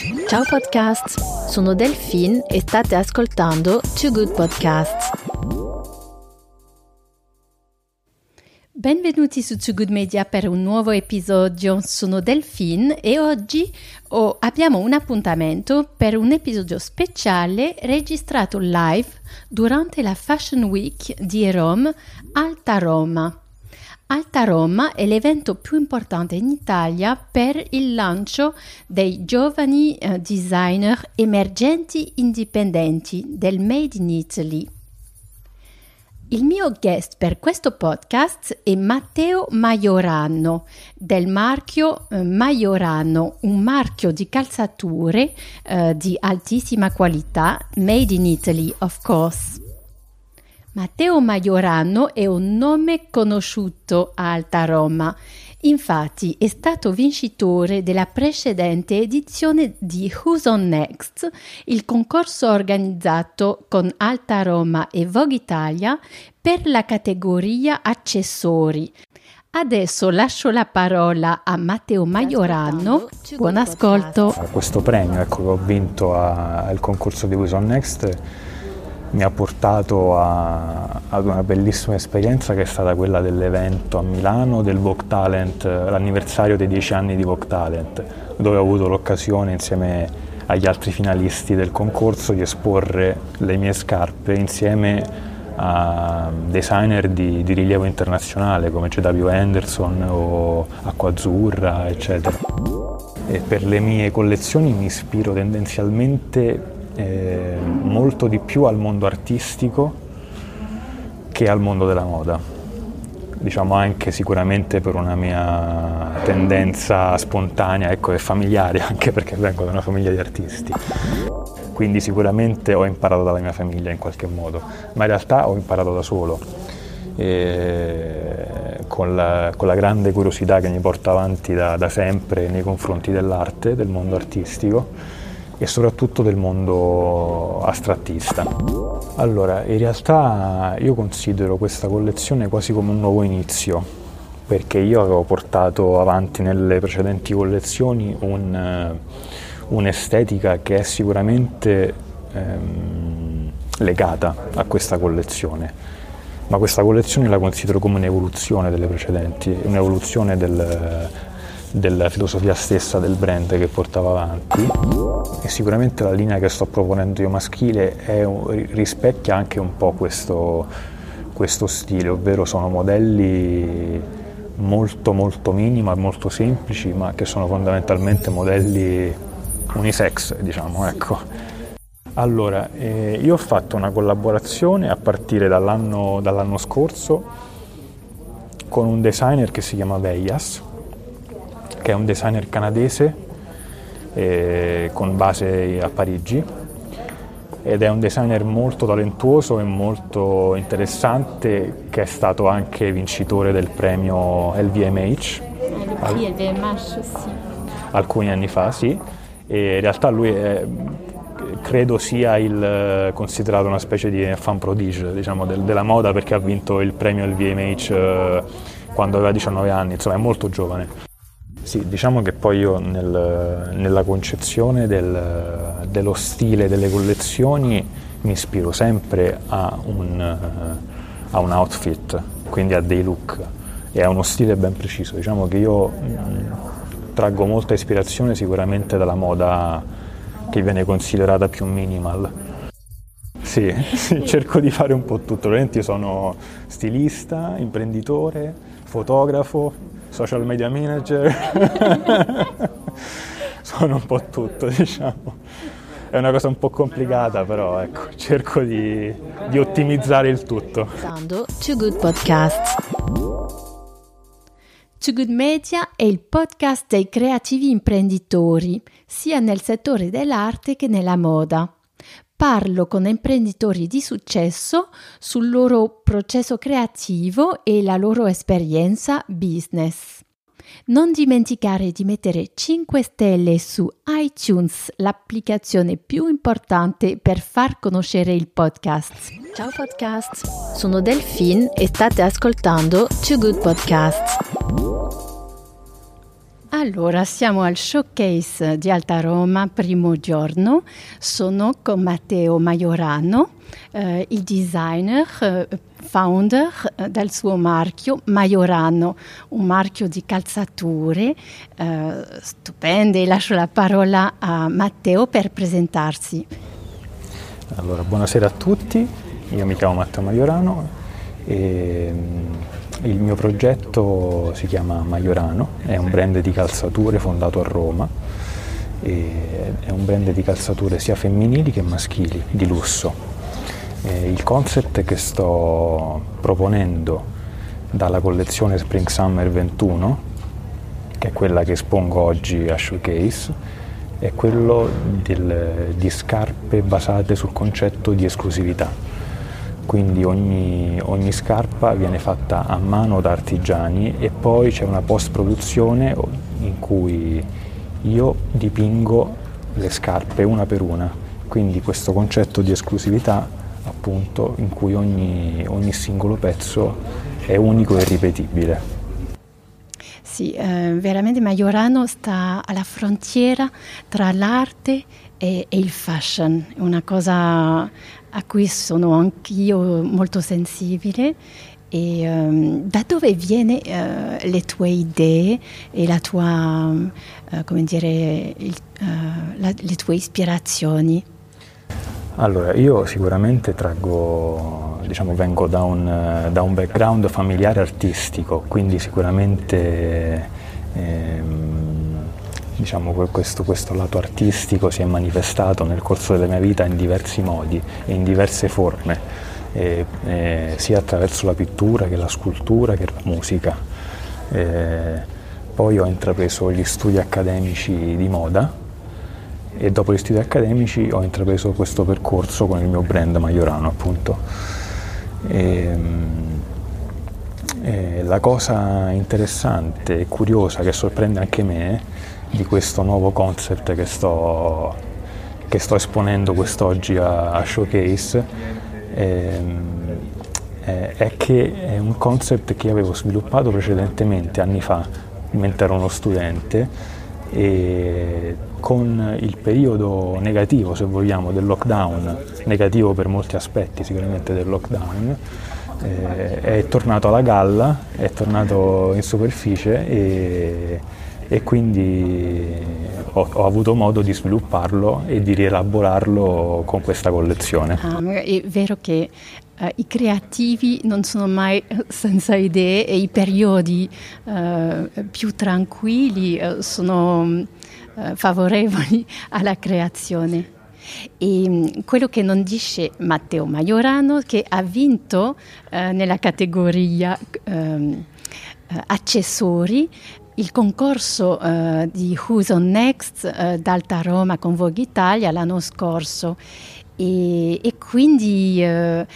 Ciao podcast, sono Delphine e state ascoltando Too Good Podcasts. Benvenuti su Too Good Media per un nuovo episodio. Sono Delphine e oggi abbiamo un appuntamento per un episodio speciale registrato live durante la Fashion Week di Rome, Alta Roma. Alta Roma è l'evento più importante in Italia per il lancio dei giovani designer emergenti indipendenti del Made in Italy. Il mio guest per questo podcast è Matteo Majorano del marchio Majorano, un marchio di calzature di altissima qualità, Made in Italy of course. Matteo Majorano è un nome conosciuto a Alta Roma, infatti è stato vincitore della precedente edizione di Who's on Next, il concorso organizzato con Alta Roma e Vogue Italia per la categoria accessori. Adesso lascio la parola a Matteo Majorano, buon ascolto. Questo premio che ho vinto al concorso di Who's on Next mi ha portato ad una bellissima esperienza che è stata quella dell'evento a Milano del Vogue Talent, l'anniversario dei 10 anni di Vogue Talent, dove ho avuto l'occasione insieme agli altri finalisti del concorso di esporre le mie scarpe insieme a designer di rilievo internazionale come J.W. Henderson o Acqua Azzurra, eccetera. E per le mie collezioni mi ispiro tendenzialmente molto di più al mondo artistico che al mondo della moda, diciamo anche sicuramente per una mia tendenza spontanea e familiare, anche perché vengo da una famiglia di artisti, quindi sicuramente ho imparato dalla mia famiglia in qualche modo, ma in realtà ho imparato da solo con la grande curiosità che mi porta avanti da sempre nei confronti dell'arte, del mondo artistico e soprattutto del mondo astrattista. Allora, in realtà io considero questa collezione quasi come un nuovo inizio, perché io avevo portato avanti nelle precedenti collezioni un'estetica che è sicuramente legata a questa collezione, ma questa collezione la considero come un'evoluzione delle precedenti, un'evoluzione della filosofia stessa del brand che portava avanti, e sicuramente la linea che sto proponendo io maschile rispecchia anche un po' questo stile, ovvero sono modelli molto molto minimal, molto semplici, ma che sono fondamentalmente modelli unisex, diciamo, ecco. Allora, io ho fatto una collaborazione a partire dall'anno scorso con un designer che si chiama Veyas, che è un designer canadese con base a Parigi, ed è un designer molto talentuoso e molto interessante, che è stato anche vincitore del premio LVMH. LVMH, sì. Alcuni anni fa, sì, e in realtà lui credo sia considerato una specie di fan prodige, diciamo, della moda, perché ha vinto il premio LVMH quando aveva 19 anni, insomma è molto giovane. Sì, diciamo che poi io nella concezione dello stile delle collezioni mi ispiro sempre a un outfit, quindi a dei look e a uno stile ben preciso. Diciamo che io traggo molta ispirazione sicuramente dalla moda che viene considerata più minimal. Sì, cerco di fare un po' tutto. Ovviamente io sono stilista, imprenditore, fotografo, social media manager, sono un po' tutto, diciamo. È una cosa un po' complicata, però ecco, cerco di ottimizzare il tutto. Too Good Podcast. Too Good Media è il podcast dei creativi imprenditori, sia nel settore dell'arte che nella moda. Parlo con imprenditori di successo sul loro processo creativo e la loro esperienza business. Non dimenticare di mettere 5 stelle su iTunes, l'applicazione più importante per far conoscere il podcast. Ciao podcast, sono Delphine e state ascoltando Too Good Podcast. Allora, siamo al showcase di Alta Roma, primo giorno. Sono con Matteo Majorano, il designer, founder del suo marchio Majorano, un marchio di calzature stupende. Lascio la parola a Matteo per presentarsi. Allora, buonasera a tutti, io mi chiamo Matteo Majorano e il mio progetto si chiama Majorano, è un brand di calzature fondato a Roma, è un brand di calzature sia femminili che maschili, di lusso. Il concept che sto proponendo dalla collezione Spring Summer 21, che è quella che espongo oggi a Showcase, è quello di scarpe basate sul concetto di esclusività. Quindi ogni scarpa viene fatta a mano da artigiani e poi c'è una post-produzione in cui io dipingo le scarpe una per una. Quindi questo concetto di esclusività, appunto, in cui ogni singolo pezzo è unico e irripetibile. Sì, veramente Majorano sta alla frontiera tra l'arte e il fashion, è una cosa a cui sono anch'io molto sensibile. E da dove viene le tue idee e la tua, come dire, le tue ispirazioni? Allora, io sicuramente vengo da un background familiare artistico, quindi sicuramente questo lato artistico si è manifestato nel corso della mia vita in diversi modi e in diverse forme, sia attraverso la pittura che la scultura che la musica. Poi ho intrapreso gli studi accademici di moda e dopo gli studi accademici ho intrapreso questo percorso con il mio brand Majorano, appunto. La cosa interessante e curiosa che sorprende anche me di questo nuovo concept che sto esponendo quest'oggi a Showcase è che è un concept che avevo sviluppato precedentemente, anni fa, mentre ero uno studente, e con il periodo negativo, se vogliamo, del lockdown, negativo per molti aspetti sicuramente del lockdown, è tornato alla galla, è tornato in superficie e quindi ho avuto modo di svilupparlo e di rielaborarlo con questa collezione. È vero che i creativi non sono mai senza idee e i periodi più tranquilli sono favorevoli alla creazione. E quello che non dice Matteo Majorano, che ha vinto nella categoria accessori il concorso di Who's on Next d'Alta Roma con Vogue Italia l'anno scorso. E quindi è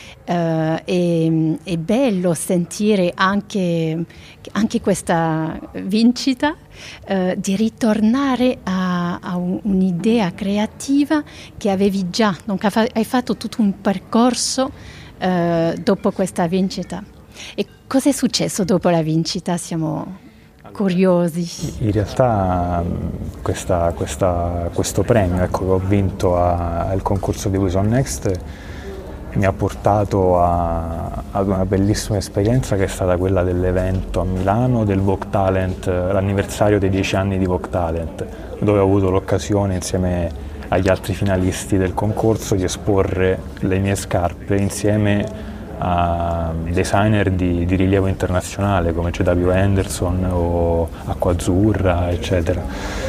bello sentire anche questa vincita, di ritornare a un'idea creativa che avevi già, hai fatto tutto un percorso dopo questa vincita. E cosa è successo dopo la vincita? Siamo curiosi. In realtà questo premio che ho vinto al concorso di Who's on Next mi ha portato ad una bellissima esperienza che è stata quella dell'evento a Milano del Vogue Talent, l'anniversario dei 10 anni di Vogue Talent, dove ho avuto l'occasione insieme agli altri finalisti del concorso di esporre le mie scarpe insieme a designer di rilievo internazionale come J.W. Henderson o Acqua Azzurra, eccetera.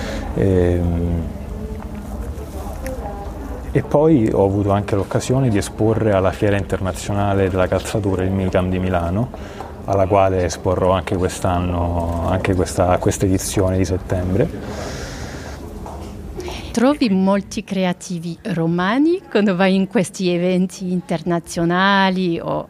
E poi ho avuto anche l'occasione di esporre alla Fiera Internazionale della Calzatura, il MICAM di Milano, alla quale esporrò anche quest'anno, anche questa edizione di settembre. Trovi molti creativi romani quando vai in questi eventi internazionali o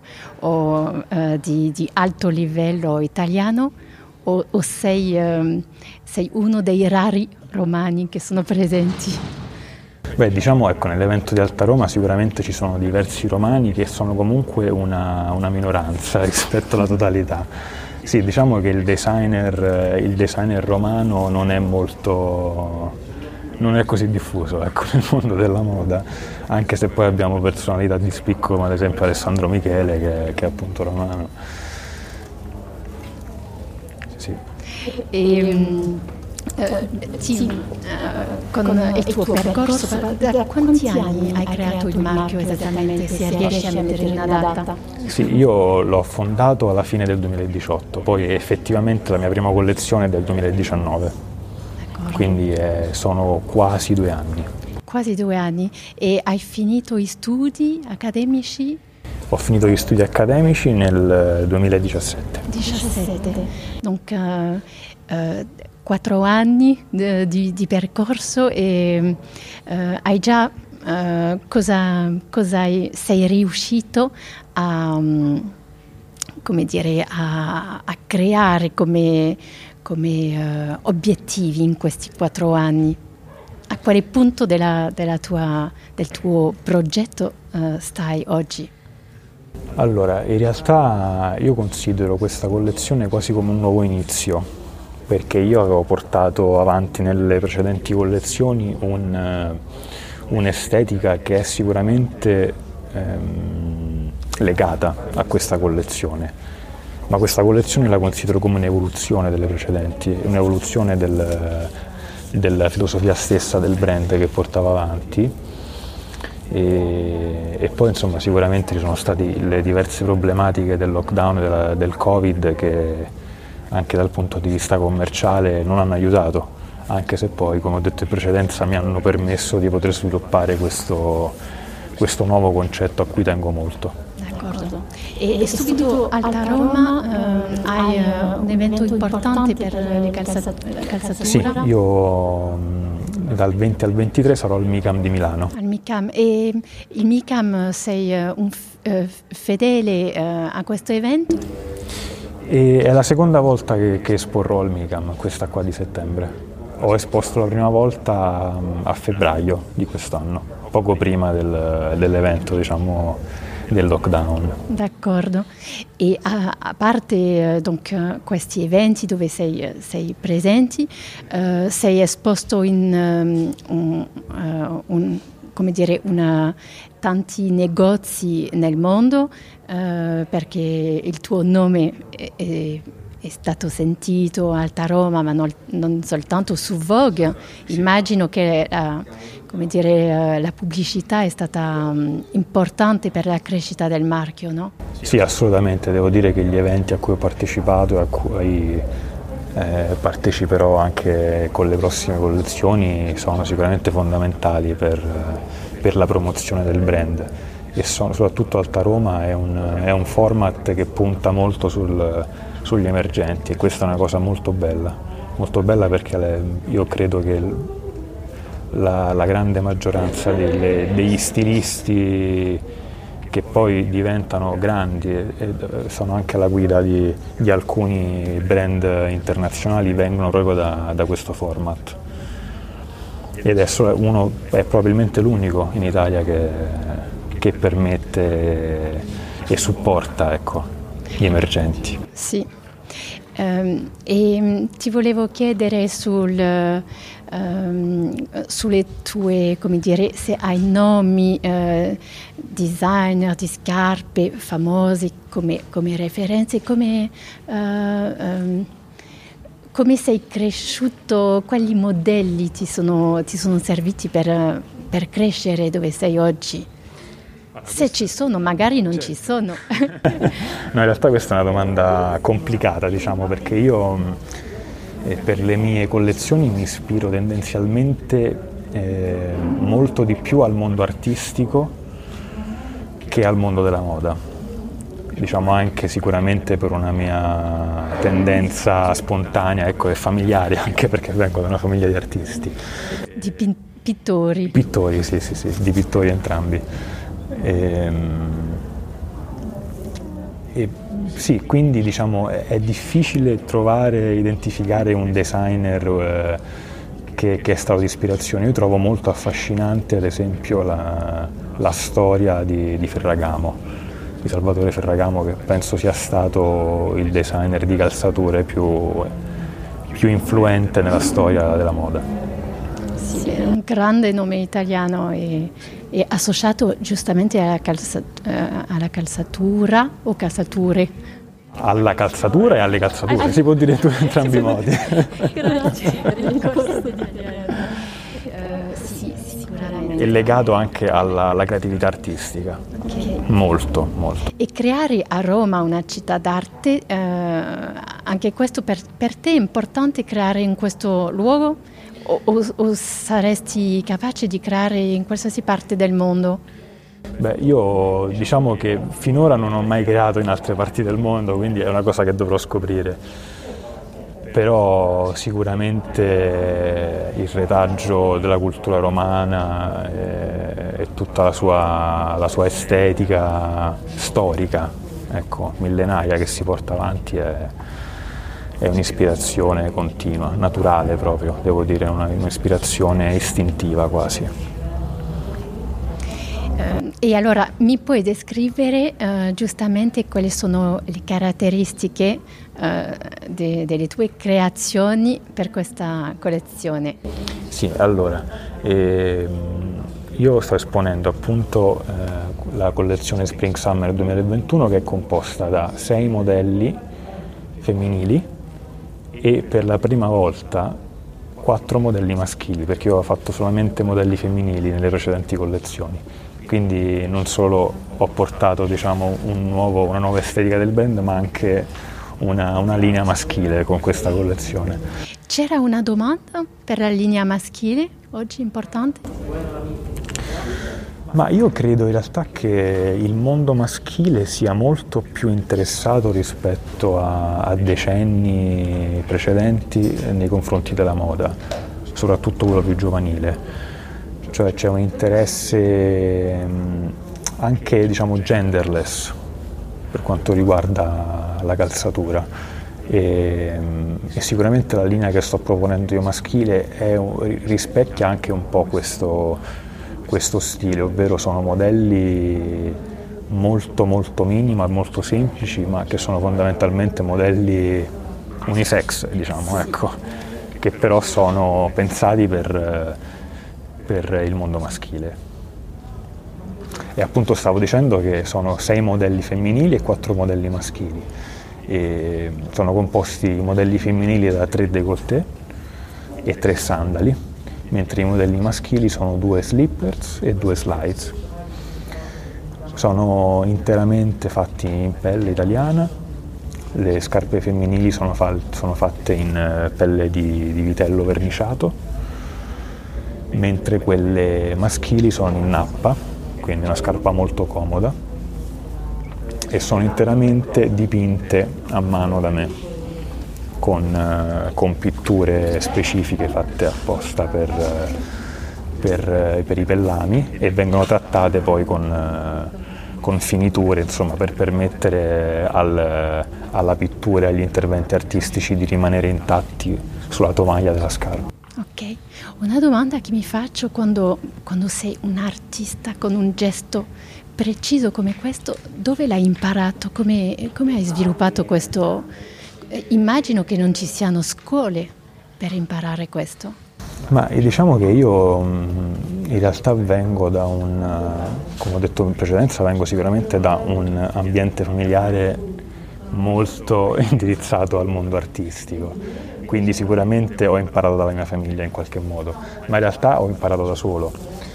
di alto livello italiano o sei uno dei rari romani che sono presenti? Beh, diciamo, ecco, nell'evento di Alta Roma sicuramente ci sono diversi romani che sono comunque una minoranza rispetto alla totalità. Sì, diciamo che il designer romano non è così diffuso, ecco, nel mondo della moda, anche se poi abbiamo personalità di spicco come ad esempio Alessandro Michele che è appunto romano. Sì. Con il tuo percorso, da quanti anni hai creato il marchio esattamente, se riesci a mettere una data? Sì, io l'ho fondato alla fine del 2018, poi effettivamente la mia prima collezione è del 2019, quindi sono quasi 2 anni. Quasi 2 anni. E hai finito gli studi accademici? Ho finito gli studi accademici nel 2017. 17. Donc 4 anni di percorso e hai già sei riuscito a, come dire, a creare come obiettivi in questi 4 anni? A quale punto del tuo progetto stai oggi? Allora, in realtà io considero questa collezione quasi come un nuovo inizio, perché io avevo portato avanti nelle precedenti collezioni un'estetica che è sicuramente legata a questa collezione, ma questa collezione la considero come un'evoluzione delle precedenti, un'evoluzione della filosofia stessa del brand che portava avanti. E poi insomma sicuramente ci sono state le diverse problematiche del lockdown, del Covid, che anche dal punto di vista commerciale non hanno aiutato, anche se poi, come ho detto in precedenza, mi hanno permesso di poter sviluppare questo nuovo concetto a cui tengo molto. D'accordo. E subito Alta Roma hai un evento importante per le calzature? Sì, io dal 20 al 23 sarò al MICAM di Milano. Al MICAM. E il MICAM sei un fedele a questo evento? E è la seconda volta che esporrò al MICAM, questa qua di settembre. Ho esposto la prima volta a febbraio di quest'anno, poco prima dell'evento, diciamo, del lockdown. D'accordo. E a parte questi eventi dove sei presenti, sei esposto in tanti negozi nel mondo, perché il tuo nome è stato sentito a Alta Roma, ma non soltanto su Vogue. Immagino che la pubblicità è stata importante per la crescita del marchio, no? Sì, assolutamente. Devo dire che gli eventi a cui ho partecipato e a cui parteciperò anche con le prossime collezioni sono sicuramente fondamentali per la promozione del brand. E soprattutto Alta Roma è un format che punta molto sugli emergenti, e questa è una cosa molto bella perché io credo che la grande maggioranza degli stilisti che poi diventano grandi e sono anche alla guida di alcuni brand internazionali vengono proprio da questo format. E adesso uno è probabilmente l'unico in Italia che permette e supporta, ecco, gli emergenti. Sì. E ti volevo chiedere sulle tue, come dire, se hai nomi designer di scarpe famosi come referenze, come sei cresciuto, quali modelli ti sono serviti per crescere dove sei oggi? Se ci sono, magari non ci sono. No, in realtà questa è una domanda complicata, diciamo, perché io per le mie collezioni mi ispiro tendenzialmente molto di più al mondo artistico che al mondo della moda. Diciamo anche sicuramente per una mia tendenza spontanea, ecco, e familiare, anche perché vengo da una famiglia di artisti. Di pittori? Pittori, sì, di pittori entrambi. Sì, quindi diciamo è difficile identificare un designer che è stato di ispirazione. Io trovo molto affascinante ad esempio la storia di Ferragamo, di Salvatore Ferragamo, che penso sia stato il designer di calzature più influente nella storia della moda. Sì, è un grande nome italiano e associato giustamente alla calzatura o calzature. Alla calzatura e alle calzature, si può dire entrambi i modi. Grazie per il corso di sì, sicuramente. È legato anche alla creatività artistica, Okay. molto, molto. E creare a Roma una città d'arte, anche questo per te è importante creare in questo luogo o saresti capace di creare in qualsiasi parte del mondo? Beh, io diciamo che finora non ho mai creato in altre parti del mondo, quindi è una cosa che dovrò scoprire. Però sicuramente il retaggio della cultura romana e tutta la sua estetica storica, ecco, millenaria che si porta avanti è un'ispirazione continua, naturale proprio, devo dire, un'ispirazione istintiva quasi. E allora mi puoi descrivere giustamente quali sono le caratteristiche delle tue creazioni per questa collezione? Sì, allora, io sto esponendo appunto la collezione Spring Summer 2021, che è composta da 6 modelli femminili e per la prima volta 4 modelli maschili, perché io ho fatto solamente modelli femminili nelle precedenti collezioni. Quindi non solo ho portato, diciamo, una nuova estetica del brand, ma anche una linea maschile con questa collezione. C'era una domanda per la linea maschile oggi importante? Ma io credo in realtà che il mondo maschile sia molto più interessato rispetto a decenni precedenti nei confronti della moda, soprattutto quello più giovanile. Cioè c'è un interesse anche, diciamo, genderless per quanto riguarda la calzatura e sicuramente la linea che sto proponendo io maschile rispecchia anche un po' questo stile, ovvero sono modelli molto molto minimal, molto semplici, ma che sono fondamentalmente modelli unisex, diciamo, ecco, che però sono pensati per il mondo maschile. E appunto stavo dicendo che sono 6 modelli femminili e 4 modelli maschili. E sono composti i modelli femminili da 3 décolleté e 3 sandali, mentre i modelli maschili sono 2 slippers e 2 slides. Sono interamente fatti in pelle italiana, le scarpe femminili sono fatte in pelle di vitello verniciato, mentre quelle maschili sono in nappa, quindi una scarpa molto comoda, e sono interamente dipinte a mano da me, con pitture specifiche fatte apposta per i pellami, e vengono trattate poi con finiture, insomma, per permettere alla pittura e agli interventi artistici di rimanere intatti sulla tovaglia della scarpa. Ok, una domanda che mi faccio quando sei un artista con un gesto preciso come questo, dove l'hai imparato? Come hai sviluppato questo? Immagino che non ci siano scuole per imparare questo. Ma diciamo che io in realtà vengo come ho detto in precedenza, vengo sicuramente da un ambiente familiare molto indirizzato al mondo artistico. Quindi sicuramente ho imparato dalla mia famiglia in qualche modo, ma in realtà ho imparato da solo,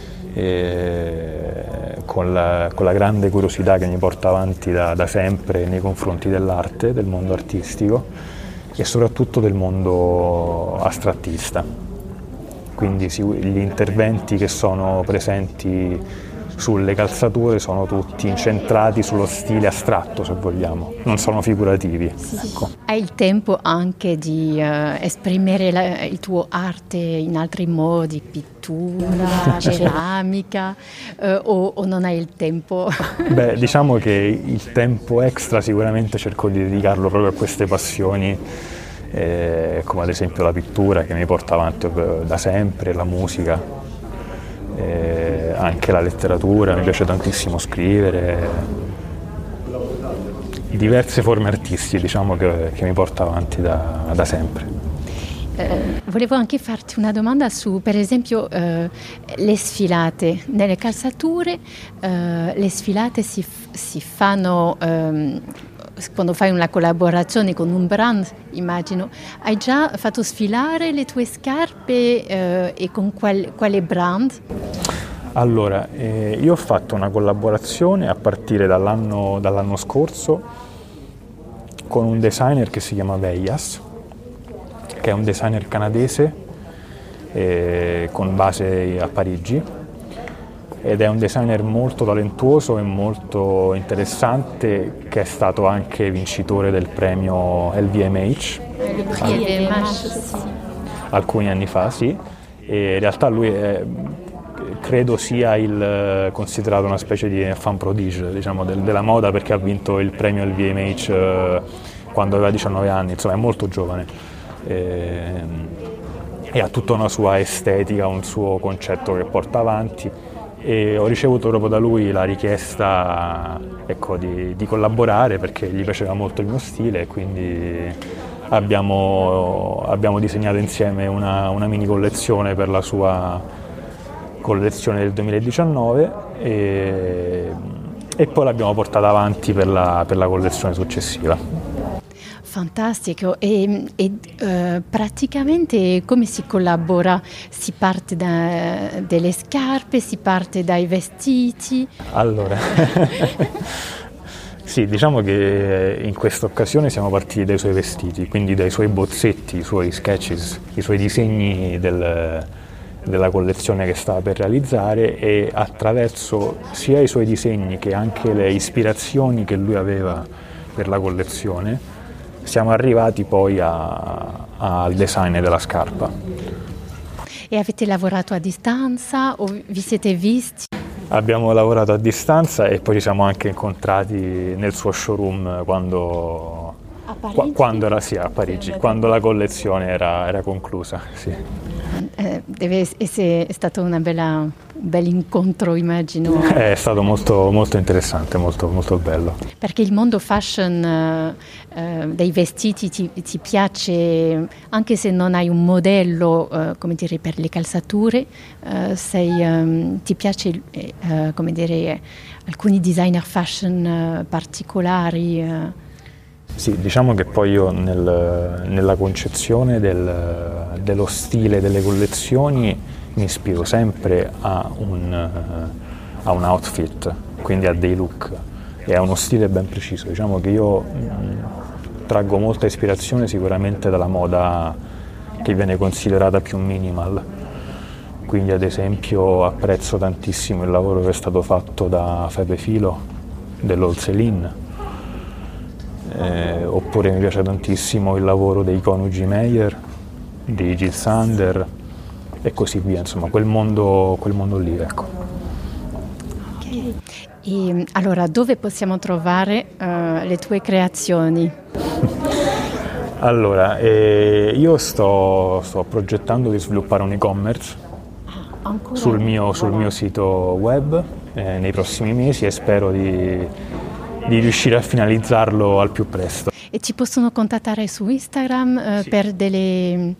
con la grande curiosità che mi porta avanti da sempre nei confronti dell'arte, del mondo artistico e soprattutto del mondo astrattista. Quindi gli interventi che sono presenti sulle calzature sono tutti incentrati sullo stile astratto, se vogliamo, non sono figurativi. Sì. Ecco. Hai il tempo anche di esprimere il tuo arte in altri modi, pittura, ceramica, o non hai il tempo? Beh, diciamo che il tempo extra sicuramente cerco di dedicarlo proprio a queste passioni, come ad esempio la pittura, che mi porta avanti da sempre, la musica. Anche la letteratura, mi piace tantissimo scrivere, diverse forme artistiche, diciamo, che mi porta avanti da sempre. Volevo anche farti una domanda su, per esempio, le sfilate. Nelle calzature le sfilate si fanno quando fai una collaborazione con un brand, immagino. Hai già fatto sfilare le tue scarpe e con quale brand? Allora, io ho fatto una collaborazione a partire dall'anno scorso con un designer che si chiama Veyas, che è un designer canadese con base a Parigi, ed è un designer molto talentuoso e molto interessante, che è stato anche vincitore del premio LVMH alcuni anni fa, sì. E in realtà lui credo sia considerato una specie di fan prodige, diciamo, della moda, perché ha vinto il premio LVMH quando aveva 19 anni, insomma è molto giovane. E ha tutta una sua estetica, un suo concetto che porta avanti, e ho ricevuto proprio da lui la richiesta, ecco, di collaborare, perché gli piaceva molto il mio stile, e quindi abbiamo disegnato insieme una mini collezione per la sua collezione del 2019 e poi l'abbiamo portata avanti per la collezione successiva. Fantastico, e praticamente come si collabora? Si parte dalle scarpe, si parte dai vestiti? Allora, sì, diciamo che in questa occasione siamo partiti dai suoi vestiti, quindi dai suoi bozzetti, i suoi sketches, i suoi disegni della collezione che stava per realizzare, e attraverso sia i suoi disegni che anche le ispirazioni che lui aveva per la collezione siamo arrivati poi al design della scarpa. E avete lavorato a distanza o vi siete visti? Abbiamo lavorato a distanza e poi ci siamo anche incontrati nel suo showroom quando era a Parigi, quando la collezione era conclusa. Sì. Deve essere stato un bel incontro, immagino. È stato molto, molto interessante, molto, molto bello. Perché il mondo fashion dei vestiti ti piace, anche se non hai un modello, come dire, per le calzature, ti piace, come dire, alcuni designer fashion particolari. Sì, diciamo che poi io nella concezione dello stile delle collezioni mi ispiro sempre a un outfit, quindi a dei look e a uno stile ben preciso. Diciamo che io traggo molta ispirazione sicuramente dalla moda che viene considerata più minimal, quindi ad esempio apprezzo tantissimo il lavoro che è stato fatto da Pepe Filo dell'Old Céline. Oppure mi piace tantissimo il lavoro dei coniugi Meyer, di Jil Sander e così via, insomma quel mondo lì, ecco. Okay. E allora dove possiamo trovare le tue creazioni? Allora, io sto progettando di sviluppare un e-commerce sul mio sito web nei prossimi mesi, e spero di riuscire a finalizzarlo al più presto. E ci possono contattare su Instagram sì, per delle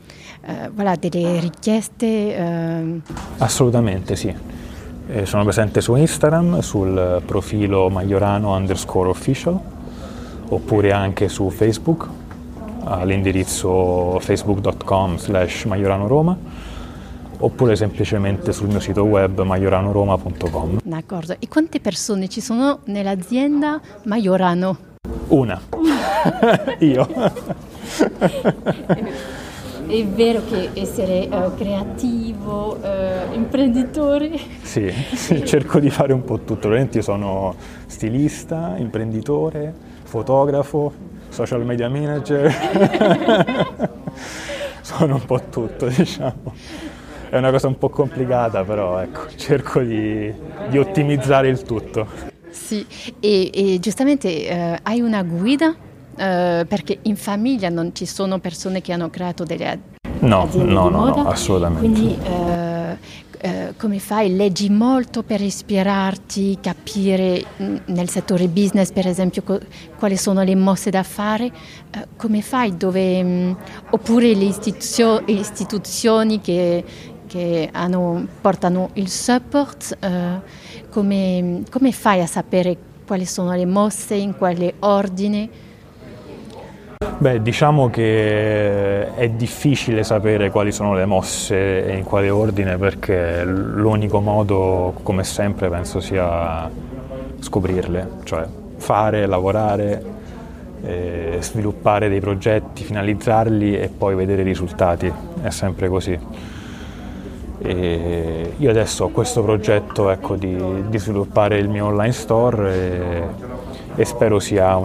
richieste? Assolutamente sì. Sono presente su Instagram, sul profilo Majorano_official, oppure anche su Facebook, all'indirizzo facebook.com/majoranoroma, oppure semplicemente sul mio sito web majoranoroma.com. D'accordo. E quante persone ci sono nell'azienda Majorano? Una. Io. È vero che essere creativo, imprenditore? Sì, cerco di fare un po' tutto. Io sono stilista, imprenditore, fotografo, social media manager. Sono un po' tutto, diciamo. È una cosa un po' complicata, però ecco, cerco di ottimizzare il tutto. Sì, e giustamente hai una guida? Perché in famiglia non ci sono persone che hanno creato delle aziende di moda. No, assolutamente. Quindi come fai? Leggi molto per ispirarti, capire nel settore business, per esempio, quali sono le mosse da fare? Come fai? Oppure le istituzioni che portano il support, come fai a sapere quali sono le mosse, in quale ordine? Beh, diciamo che è difficile sapere quali sono le mosse e in quale ordine, perché l'unico modo, come sempre, penso sia scoprirle, cioè fare, lavorare, sviluppare dei progetti, finalizzarli e poi vedere i risultati, è sempre così. E io adesso ho questo progetto, ecco, di sviluppare il mio online store e spero sia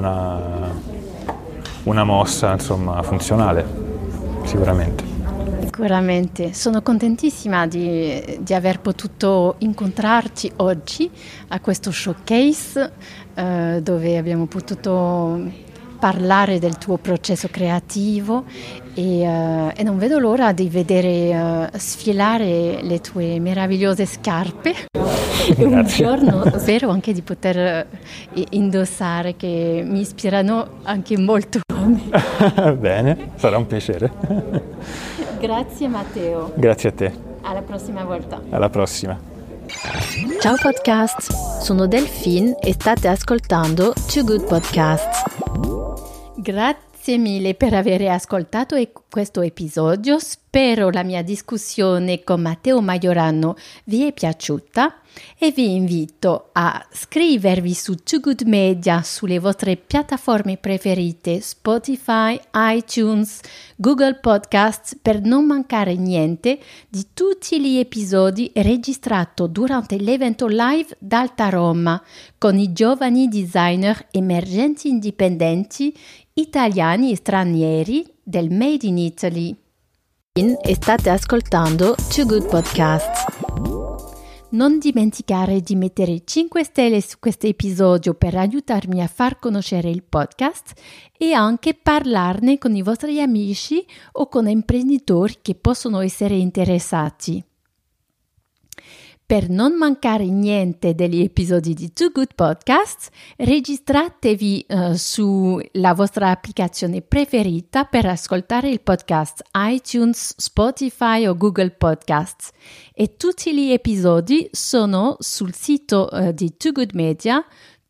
una mossa, insomma, funzionale, sicuramente. Sicuramente, sono contentissima di aver potuto incontrarci oggi a questo showcase dove abbiamo potuto parlare del tuo processo creativo e non vedo l'ora di vedere sfilare le tue meravigliose scarpe e un giorno spero anche di poter indossare, che mi ispirano anche molto a me. Bene, sarà un piacere. Grazie Matteo. Grazie a te. Alla prossima volta. Alla prossima. Ciao podcast, sono Delphine e state ascoltando Too Good Podcast. Grazie mille per aver ascoltato questo episodio. Spero la mia discussione con Matteo Majorano vi è piaciuta e vi invito a iscrivervi su Too Good Media sulle vostre piattaforme preferite, Spotify, iTunes, Google Podcasts, per non mancare niente di tutti gli episodi registrati durante l'evento live d'Alta Roma con i giovani designer emergenti indipendenti italiani e stranieri del Made in Italy. E state ascoltando Too Good Podcast. Non dimenticare di mettere 5 stelle su questo episodio per aiutarmi a far conoscere il podcast e anche parlarne con i vostri amici o con imprenditori che possono essere interessati. Per non mancare niente degli episodi di Too Good Podcast, registratevi sulla vostra applicazione preferita per ascoltare il podcast iTunes, Spotify o Google Podcasts. E tutti gli episodi sono sul sito di Too Good Media,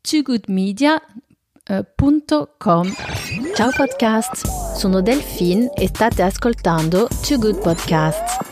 toogoodmedia.com. Ciao podcast, sono Delphine e state ascoltando Too Good Podcast.